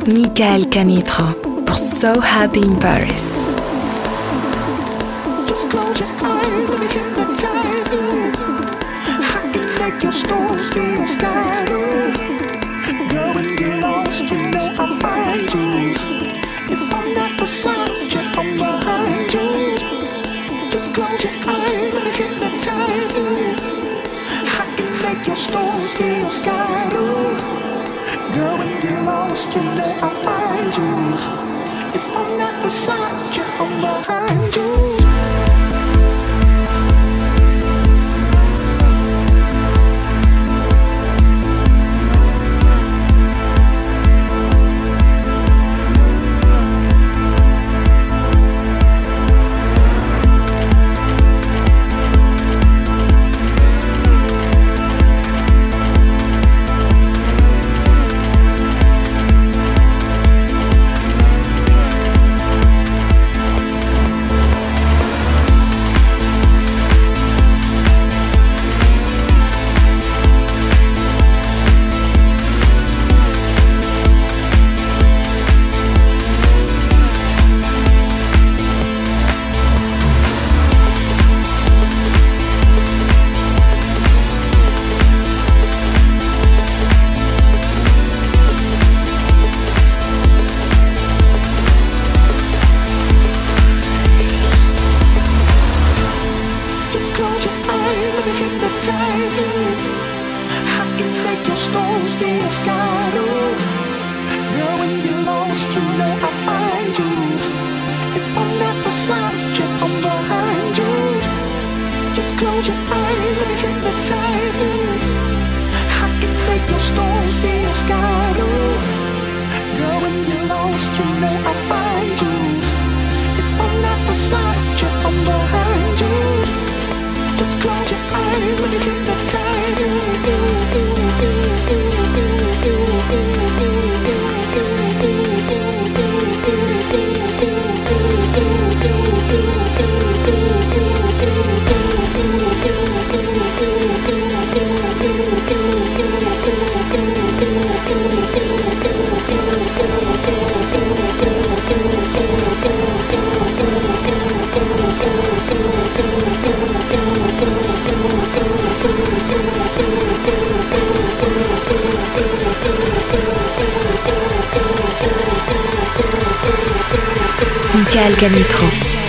Michael Canitra pour So Happy in Paris. Just close your eyes, let me hypnotize you. I can make your stories feel scared. Girl, when you're lost, you know I'll find you. If I'm not beside you, I'm behind you. Just close your eyes, let me hypnotize you. I can make your stories feel scared. Girl, when you're lost, you know I'll find you. If I'm not beside you, I'm behind you. Michael Canitra.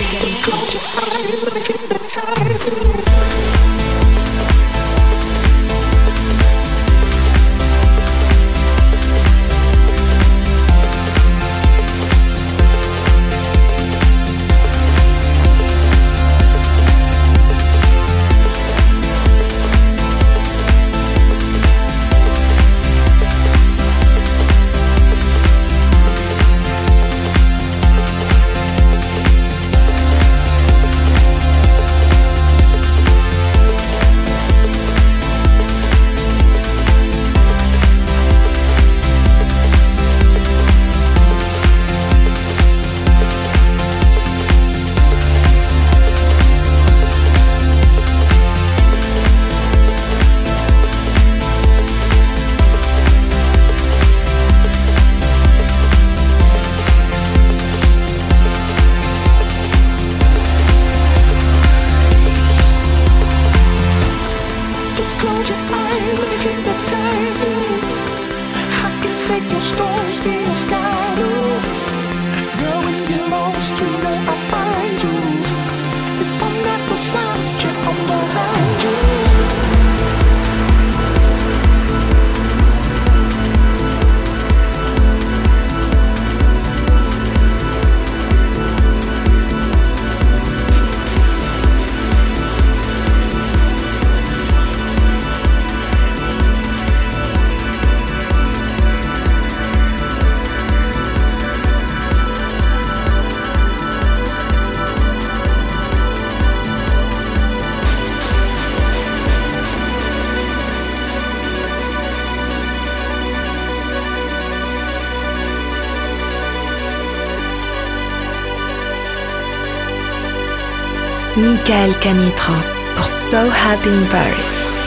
Michael Canitra pour So Happy in Paris.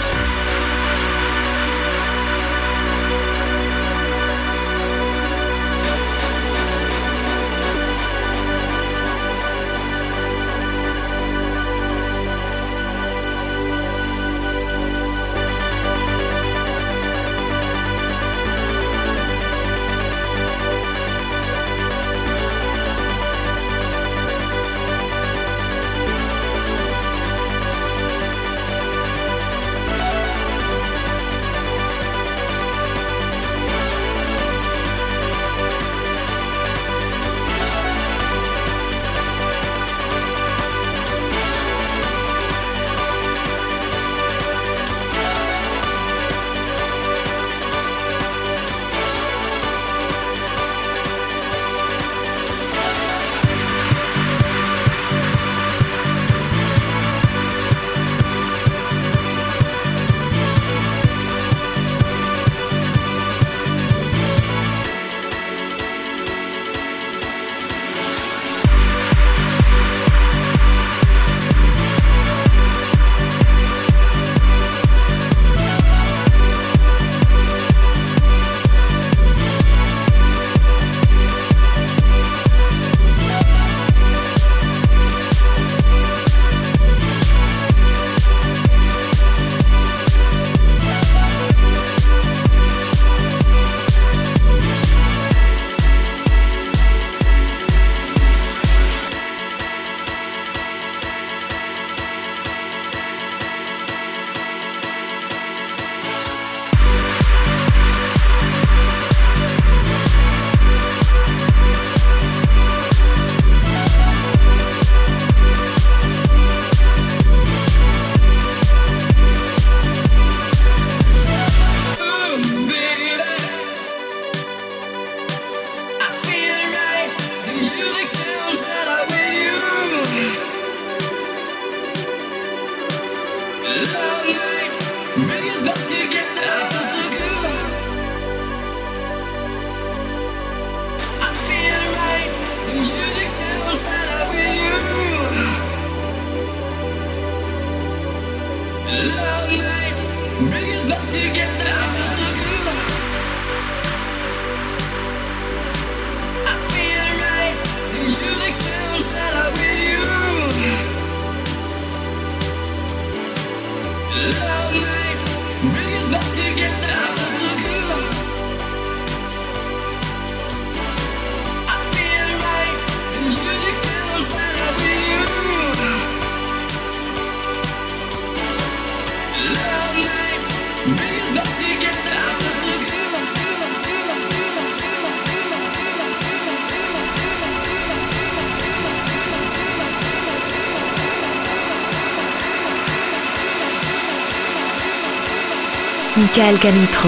Michael Canitro.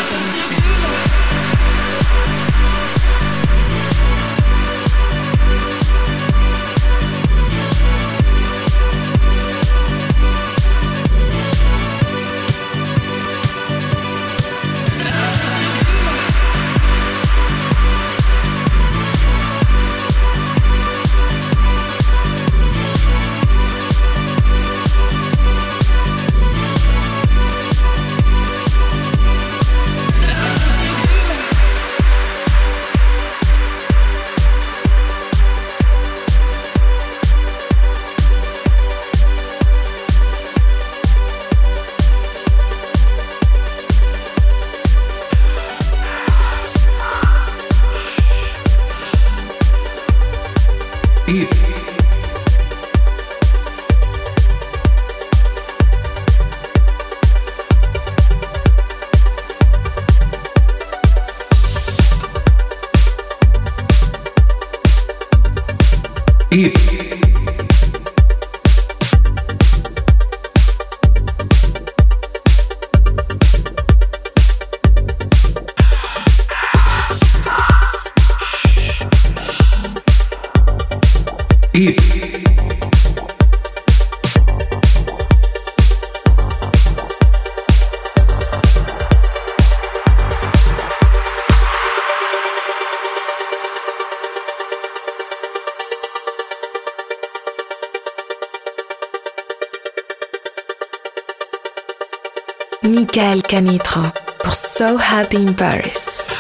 Michael Canitro pour So Happy in Paris.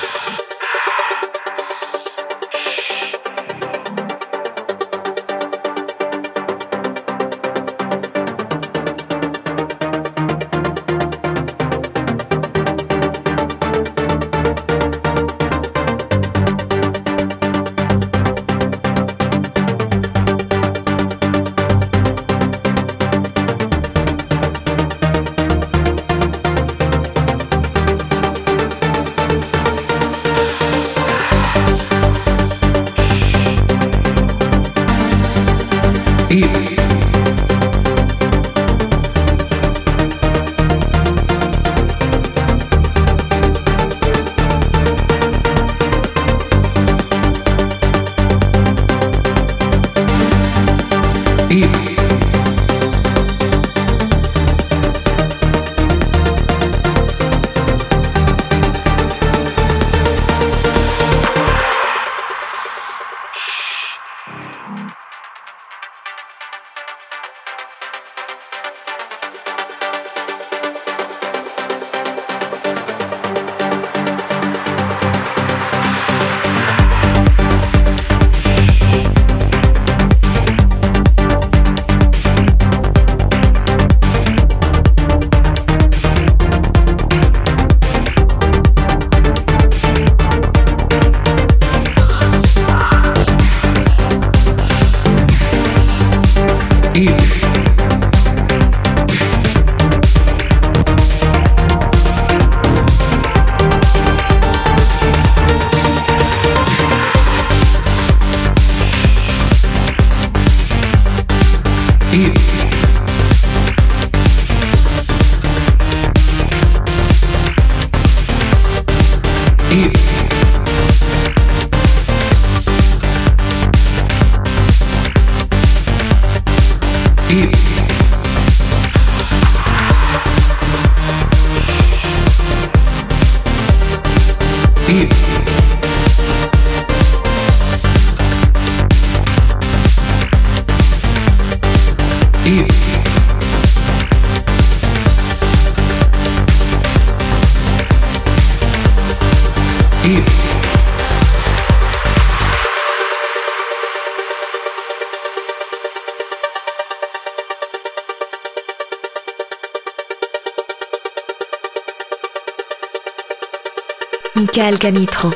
Michael Canitro.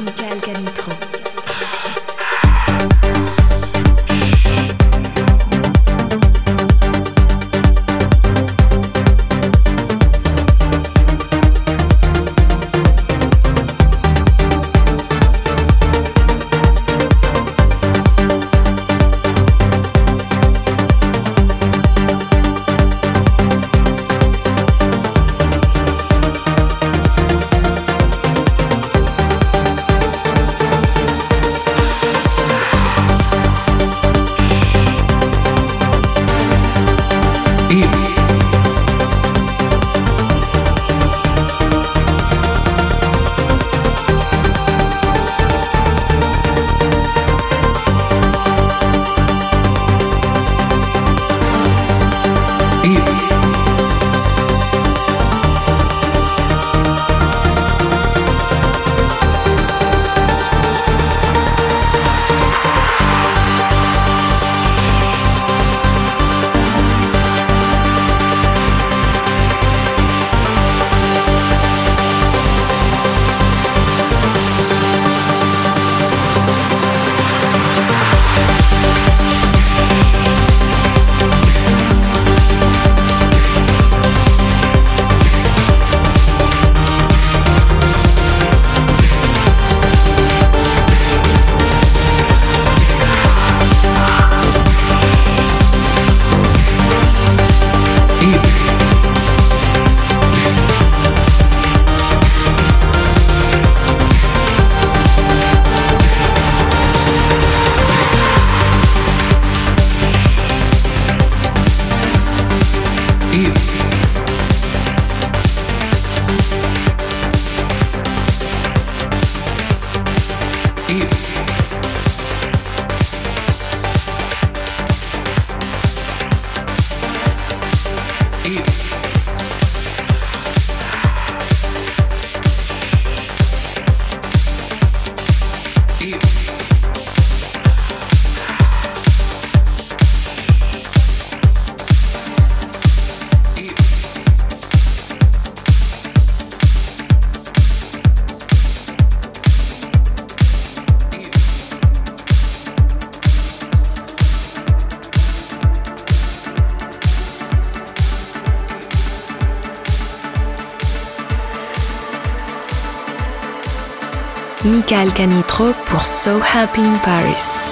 Michael Canitro pour So Happy in Paris.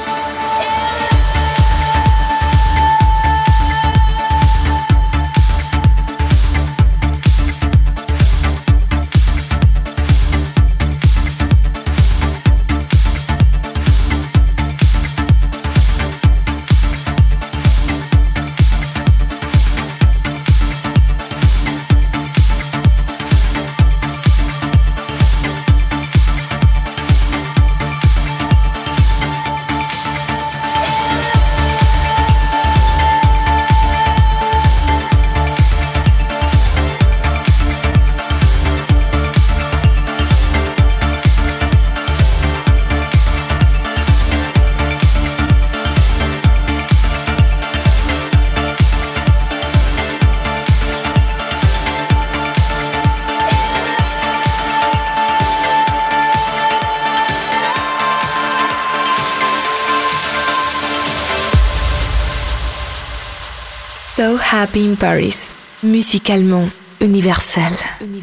So Happy in Paris, musicalement universel.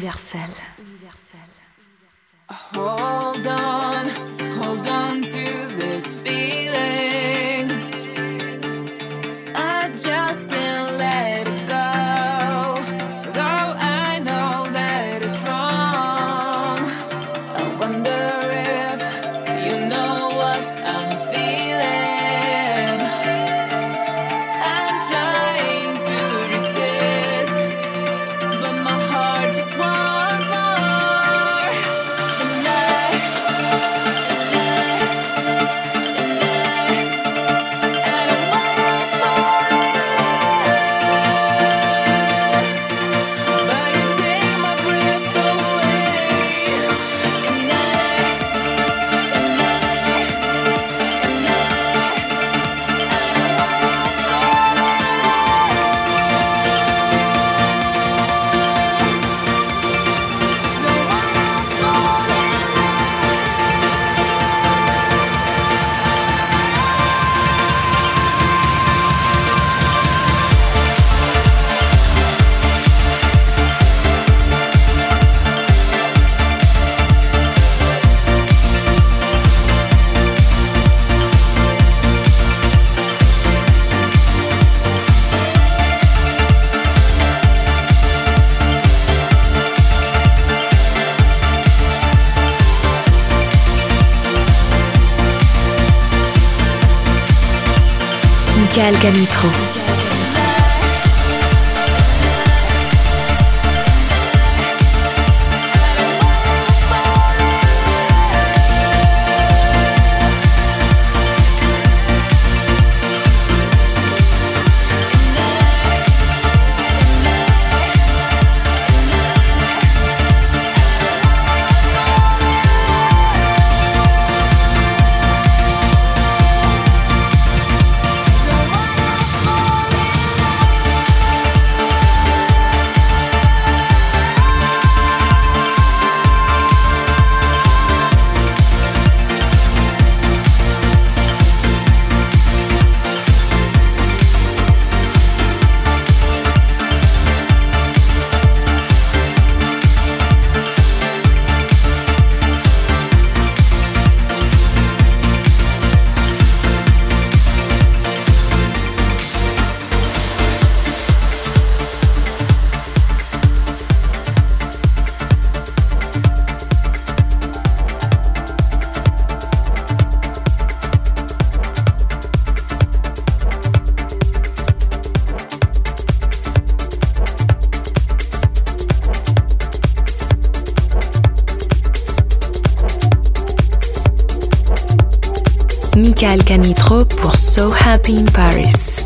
Hold on to this feeling. I just can't let it go. Though I know that it's wrong. I wonder if you know what I'm feeling. I'm trying to resist, but my heart just wants more. And I Michael Canitro. Michael Canitro pour So Happy in Paris.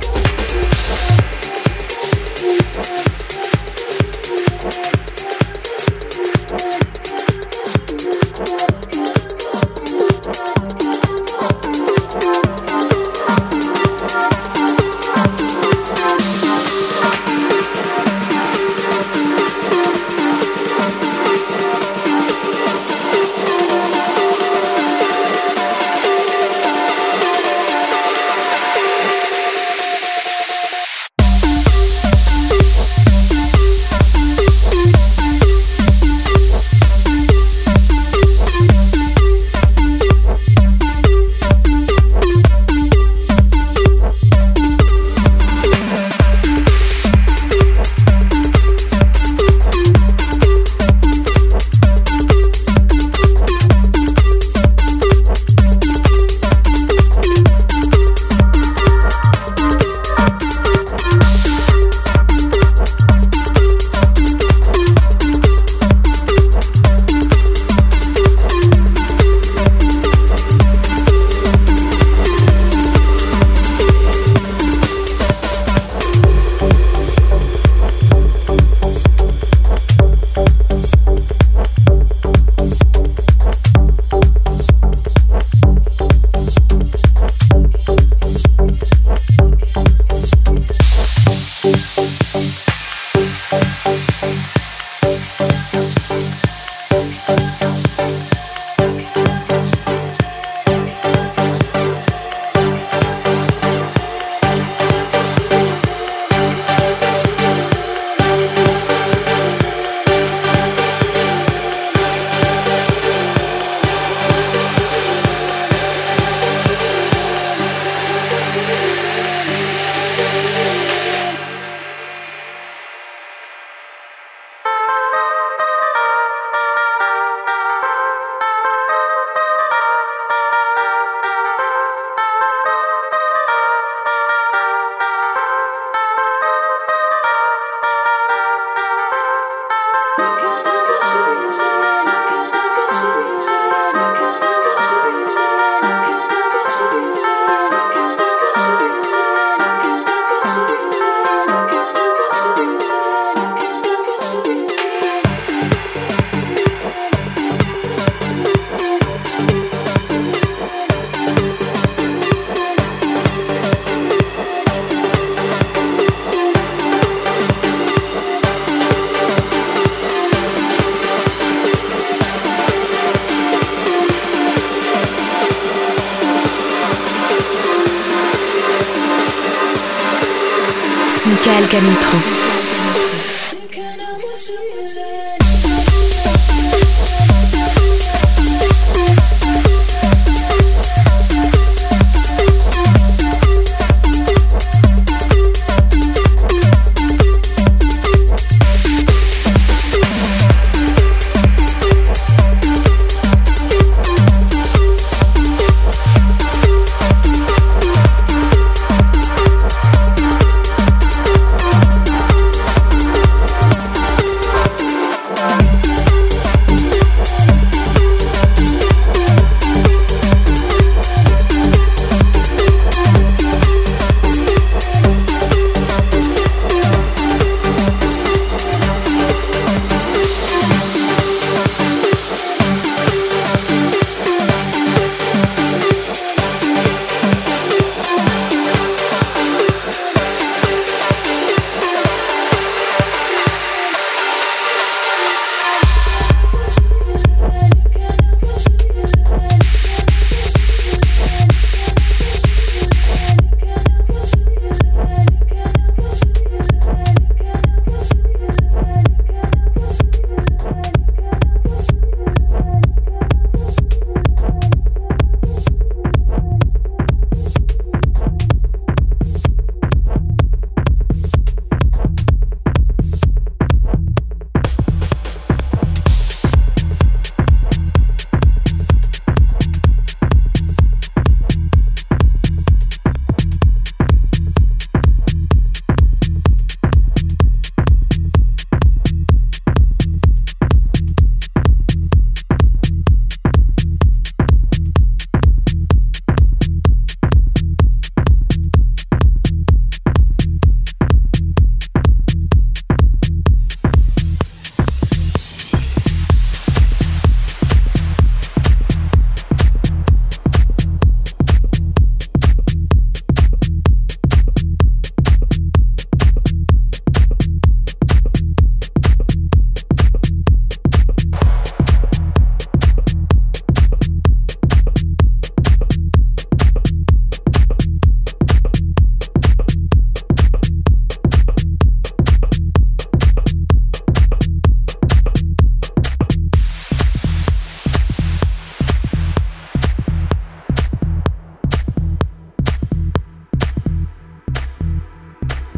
Michael Canitro.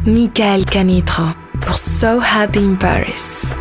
Michael Canitrot pour So Happy in Paris.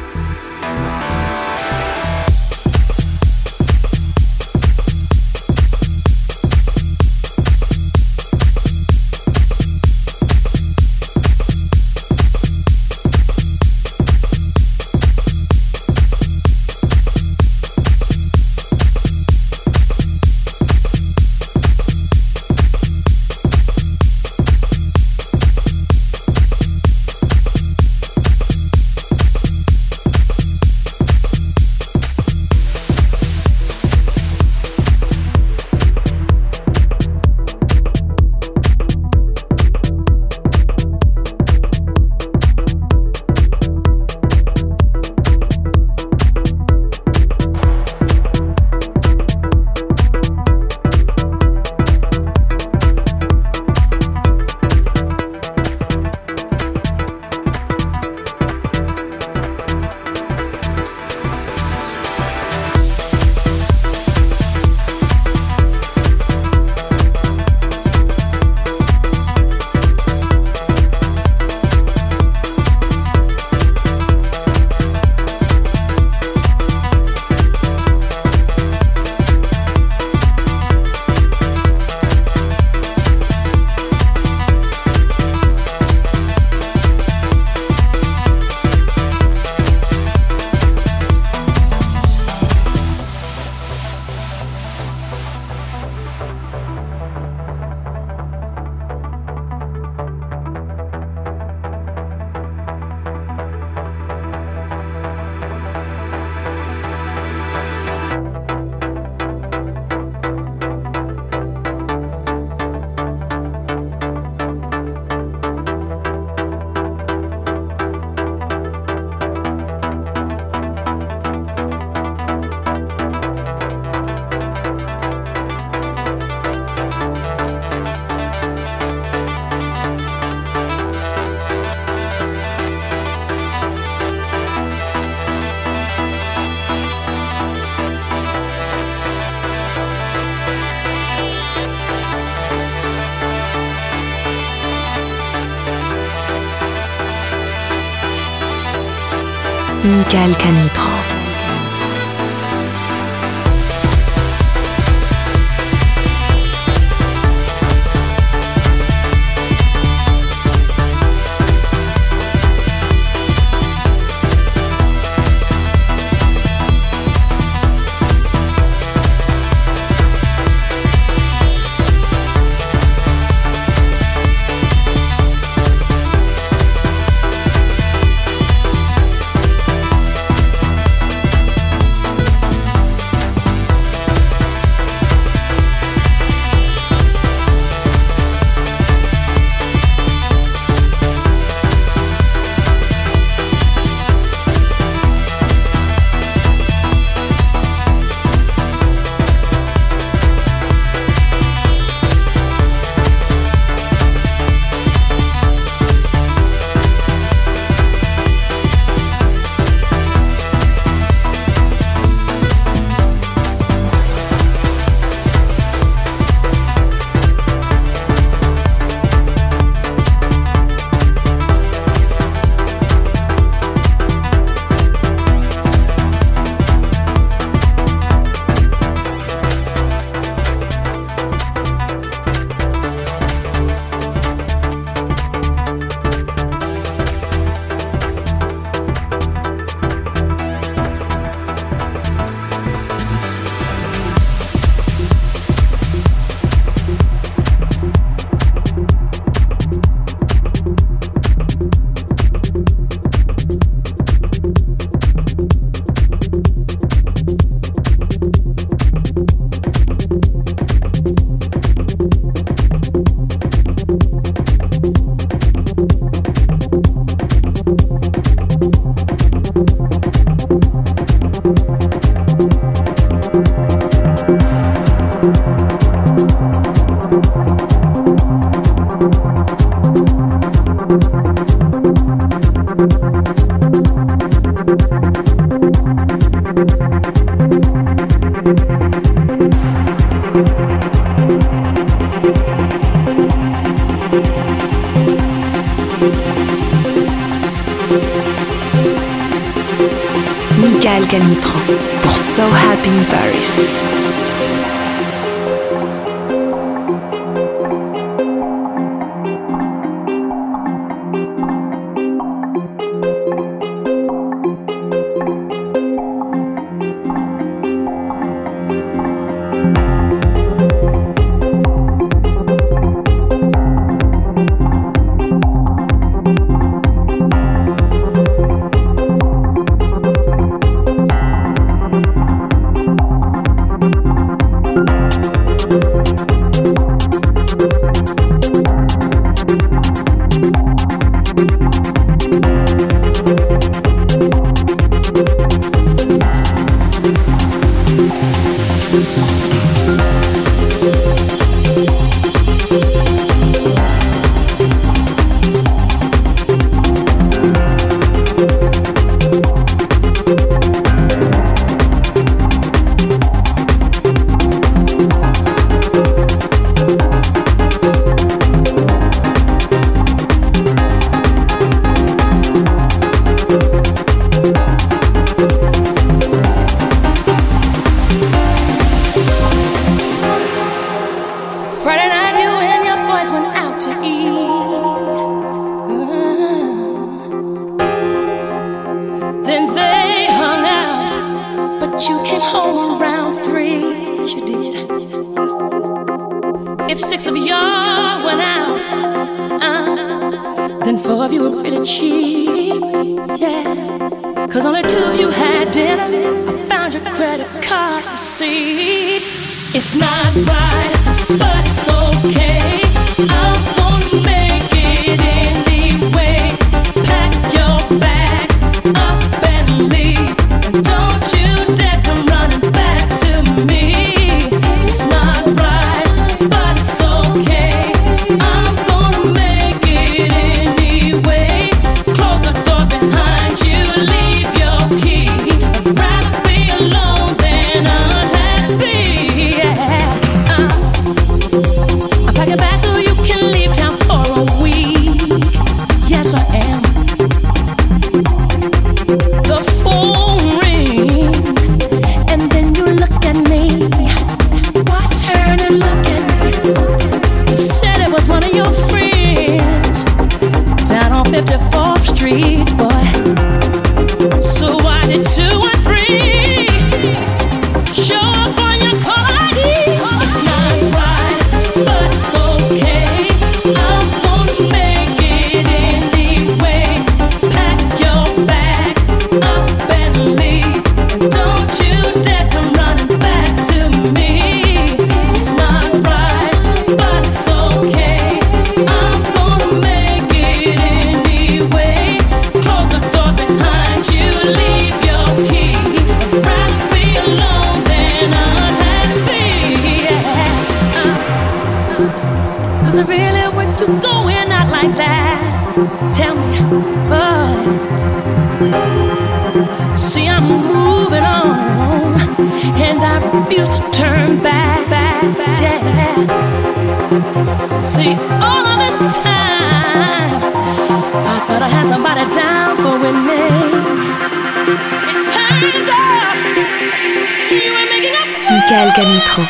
Michael Canitrot. Michael Canitro pour So Happy in Paris. Michael Canitro.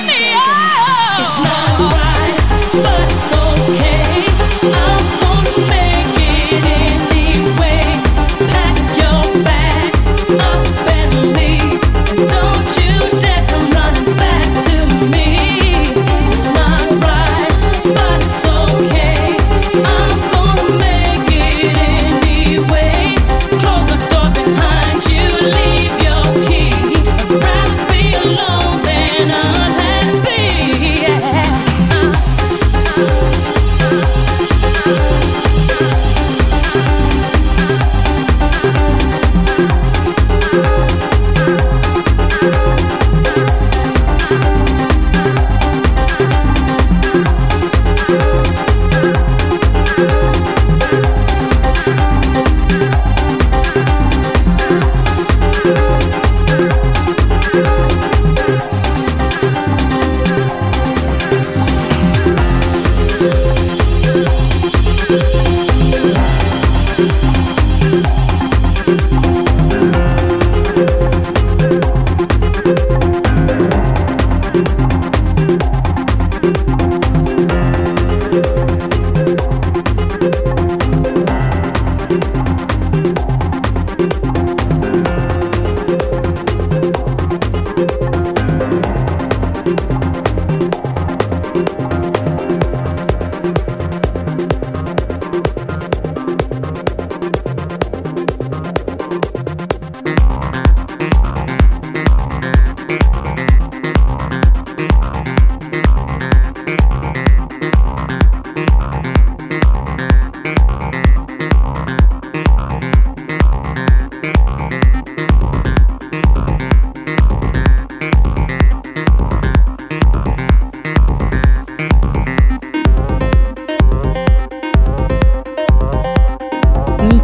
Leave your key. I'd rather be alone than unhappy.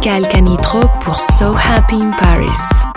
Michael Canitro pour So Happy in Paris.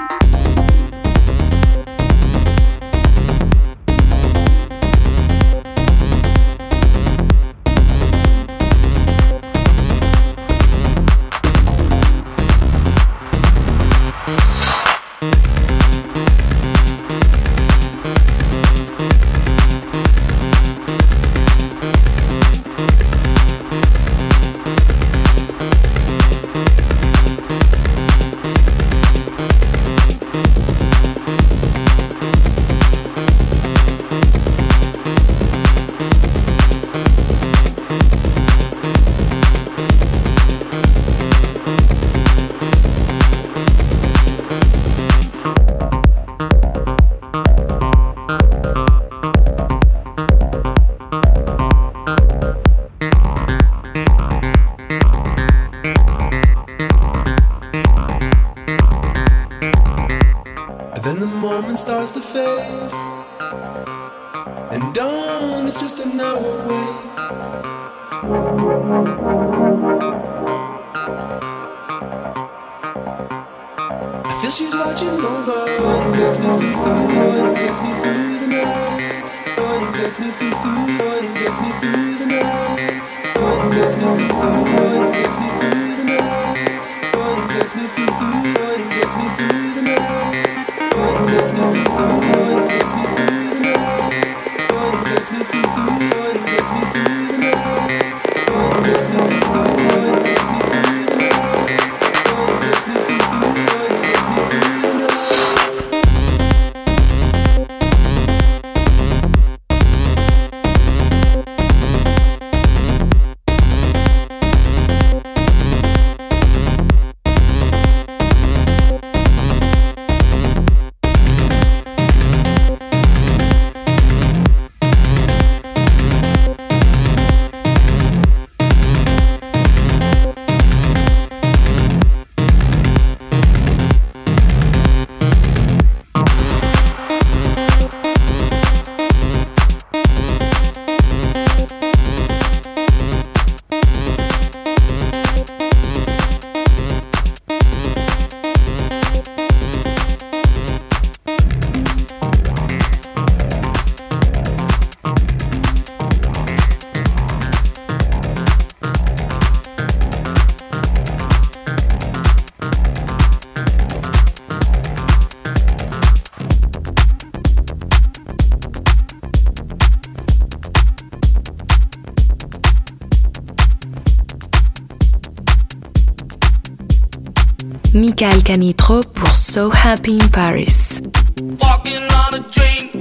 Michael Canitro pour So Happy in Paris. Walking on a dream.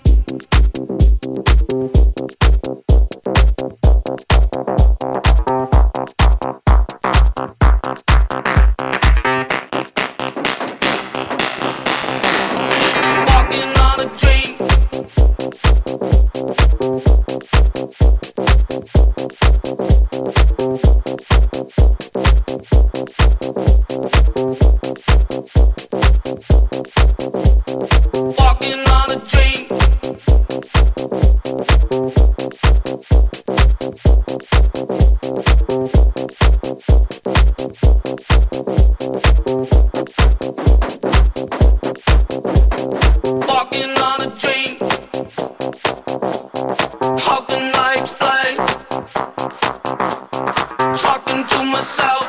Walking on a dream. Walking on a dream. Walking on a dream. How can I explain? Talking to myself.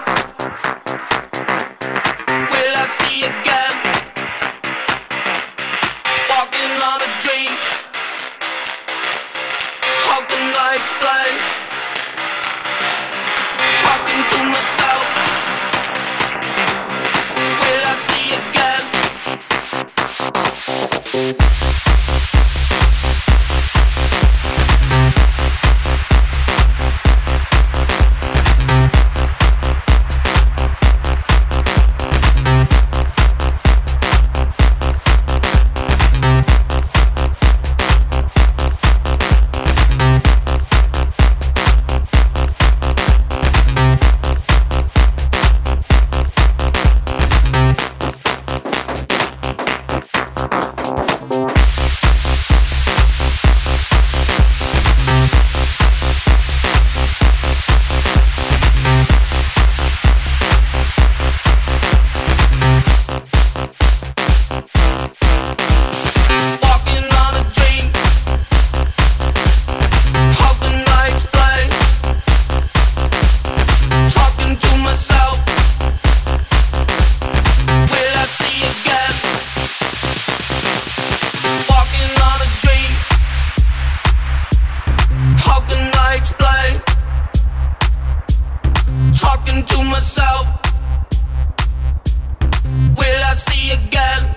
Will I see again? Walking on a dream. How can I explain? Talking to myself. Will I see again? see again.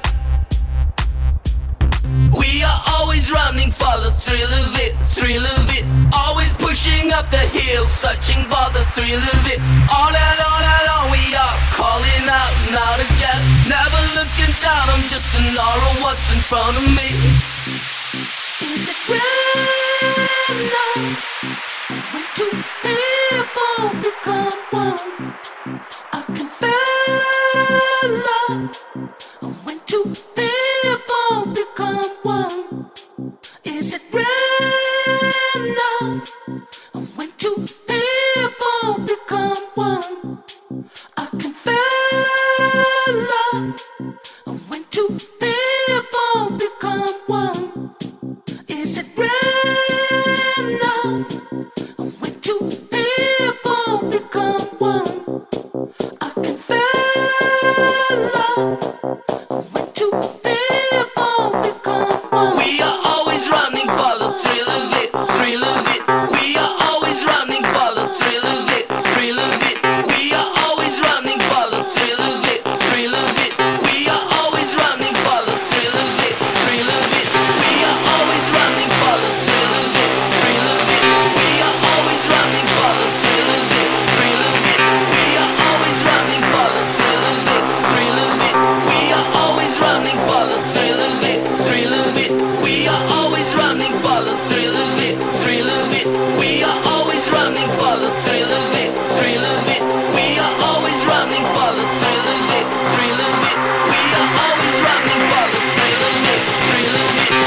We are always running for the thrill of it, thrill of it. Always pushing up the hill, searching for the thrill of it. All along we are calling out and out again. Never looking down, I'm just an aura of what's in front of me. Is it random when two people become one? I can feel love when two people become one. Is it random when two people become one? I can feel love when two people become one. Is it random when two people become one? I can feel love when two people become one. We are always running for the thrill of it, thrill of it. We are always running for the thrill of it, thrill of it. We are always running for the thrill of it, thrill of it. We are always running for the thrill of it, thrill of it. We are always running for the thrill of it, thrill of it. We are always running for the thrill of it, thrill of it. We are always running for the thrill of it, thrill of it. We are always running for the thrill of it, thrill of it. We are always running for the thrill of it, thrill of it. We are always running for the thrill of it, thrill of it. We are always running for the thrill of it, thrill of it. We are always running for the thrill of it, thrill of it.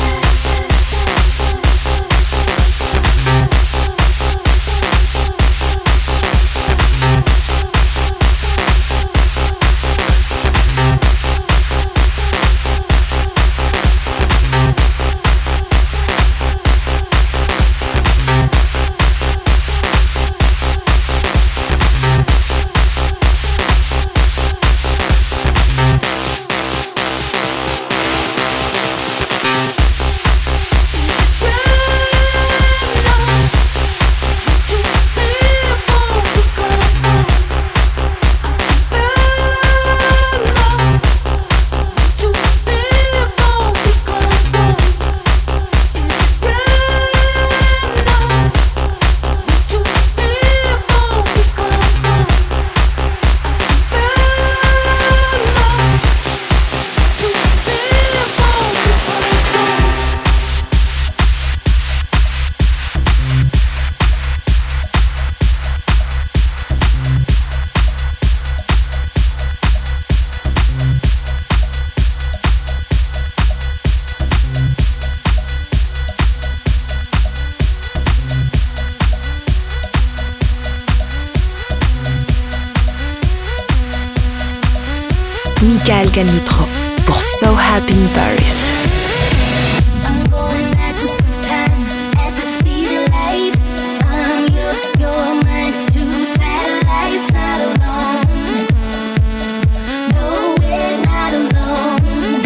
Michael Canutro pour So Happy in Paris. I'm going backwards through time at the speed of light. I'm yours, you're mine, two satellites, not alone. No, we're not alone.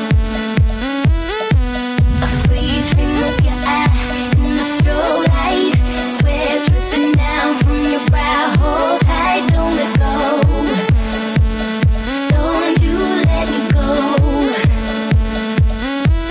A freeze frame of your eye in the strobe light. Sweat dripping down from your brow. Hold tight, don't let go. Don't you let me go.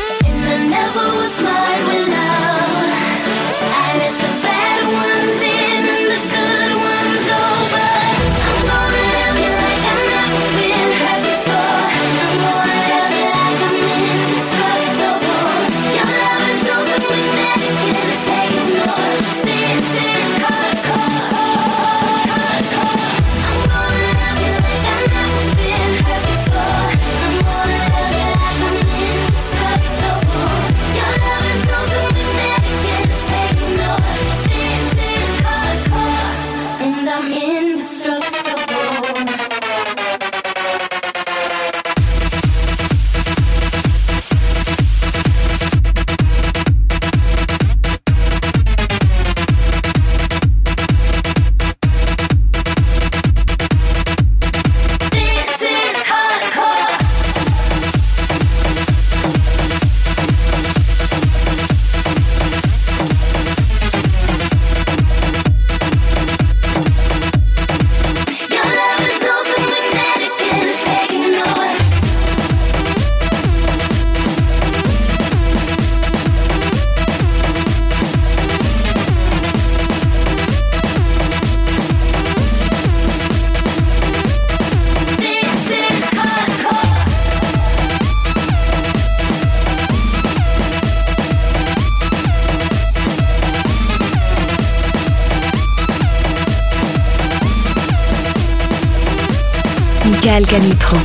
Michael Canitro.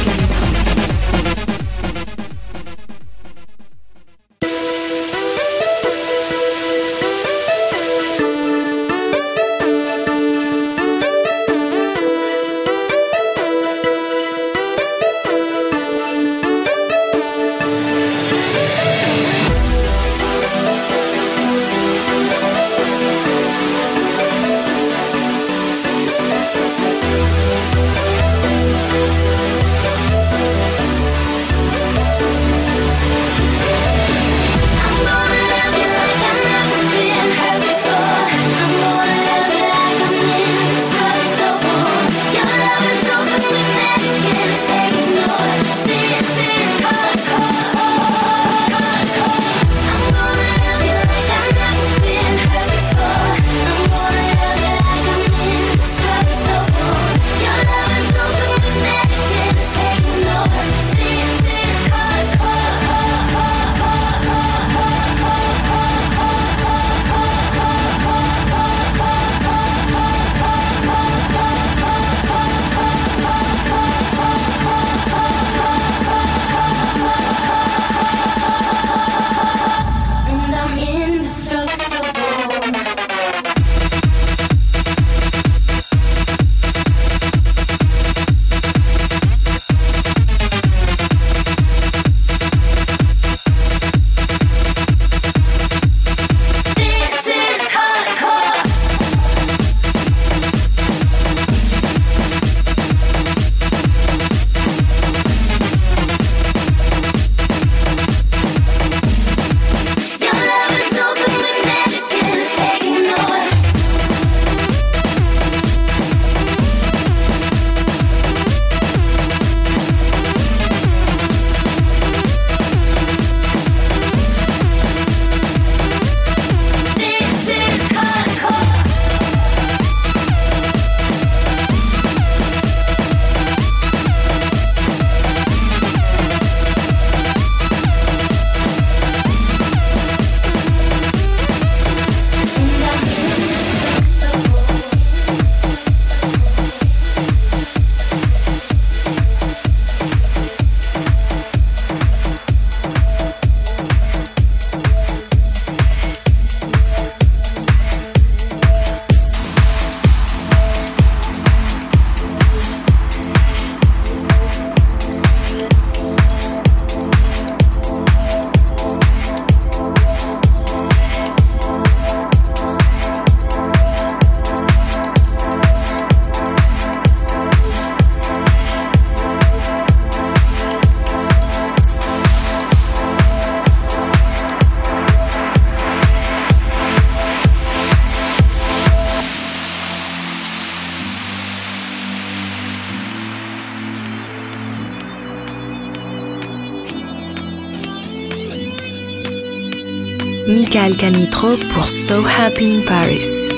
Michael Canitro pour So Happy in Paris.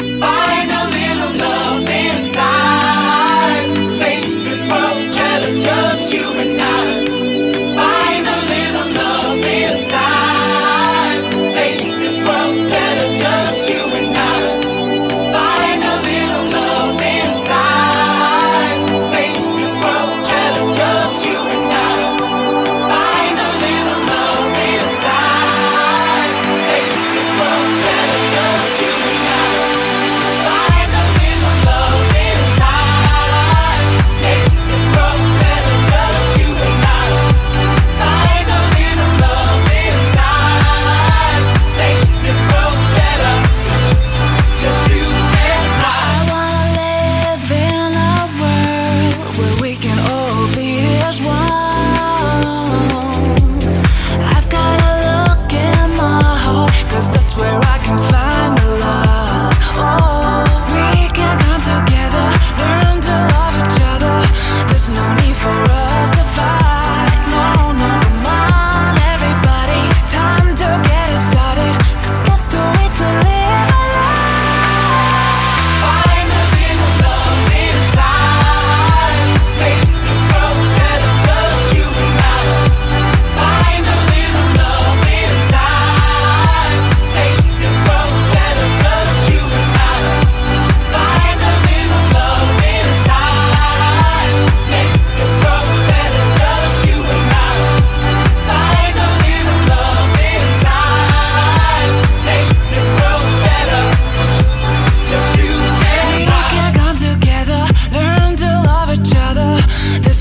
Find a little love inside. Make this world better, just you and I. Find a little love inside. Make this world better, just you and I. Find a little love inside. Make this world better, just you and I. Find a little love inside. Make this world better, just you and I.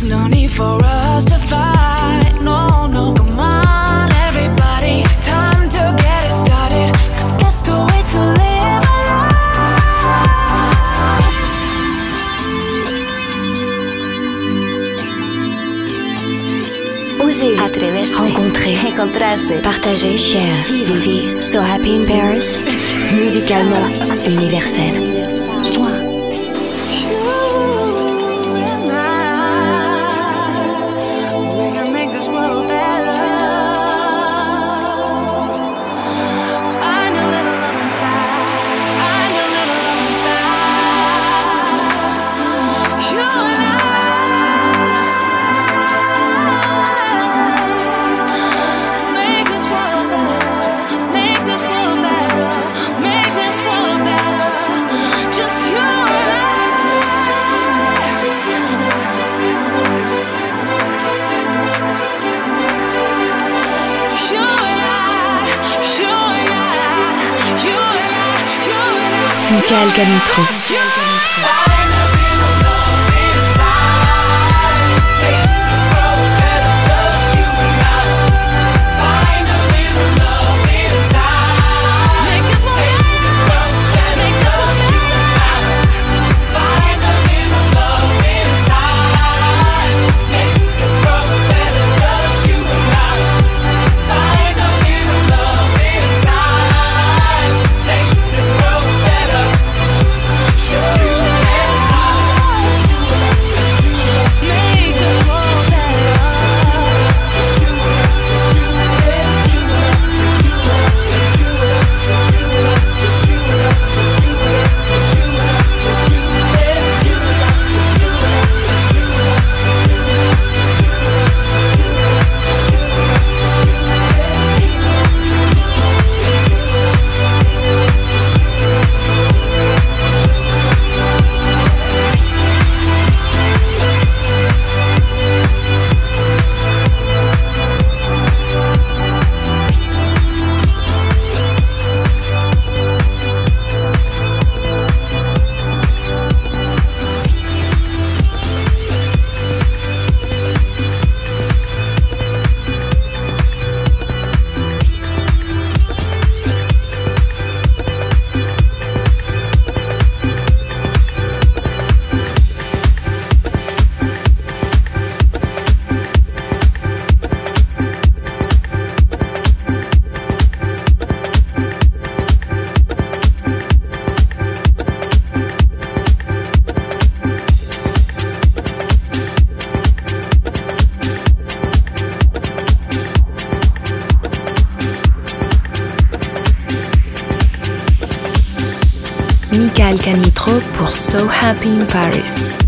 no need for us to fight. No, no, come on, everybody. Time to get it started. 'Cause that's the way to live a life. Oser, atreverse, rencontrer, encontrarse, partager, share, vivre. So Happy in Paris, musicalement universel. Michael Canitro. Michael Canitro pour So Happy in Paris.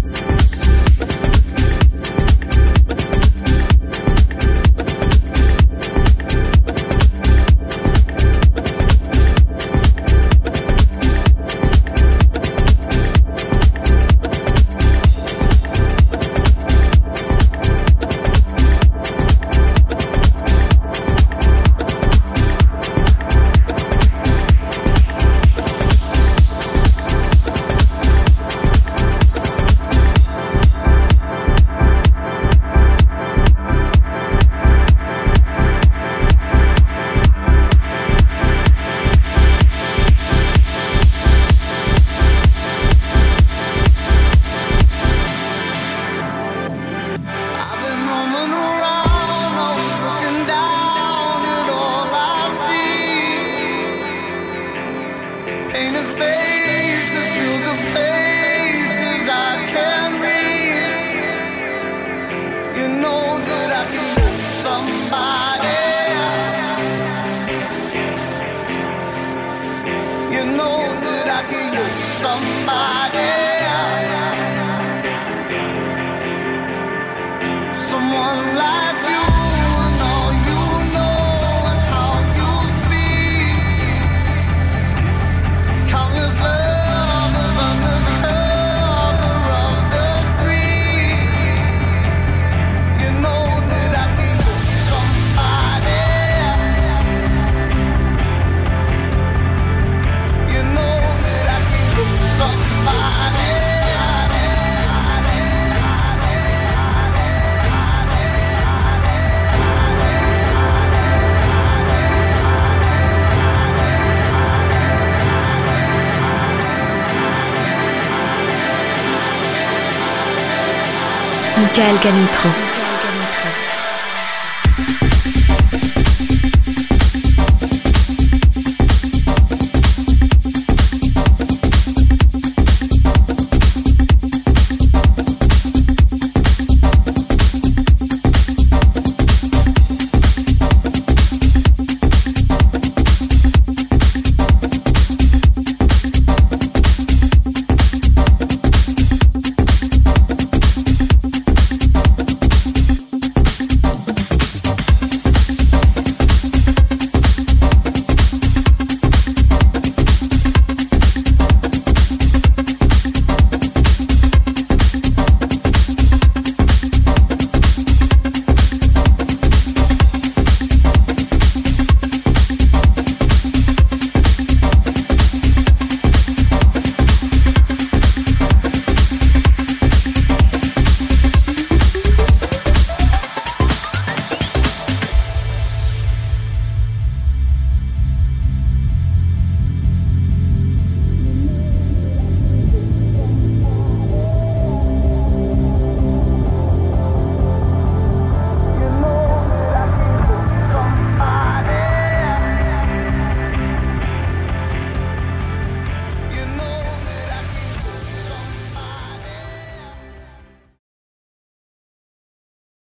Michael Canitrot.